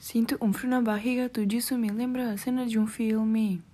Sinto um frio na barriga, tudo isso me lembra a cena de um filme.